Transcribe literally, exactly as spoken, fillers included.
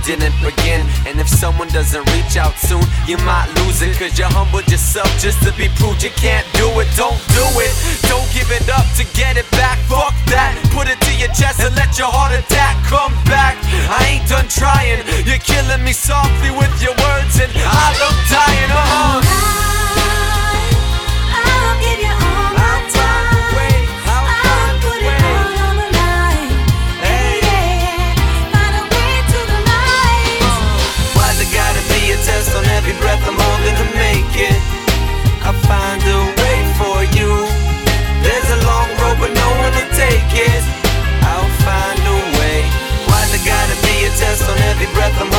didn't begin. And if someone doesn't reach out soon, you might lose it, cause you humbled yourself just to be proved you can't do it. Don't do it, don't give it up to get it back. Fuck that, put it to your chest and let your heart attack come back. I ain't done trying, you're killing me softly with your words, and I look dying. Uh-huh. I'll give you all my time. I'll put it all on the line. Hey, yeah, find a way to the light. Why's it gotta be a test on every breath I'm holding to make it? I'll find a way for you. There's a long road but no one to take it. I'll find a way. Why's it gotta be a test on every breath I'm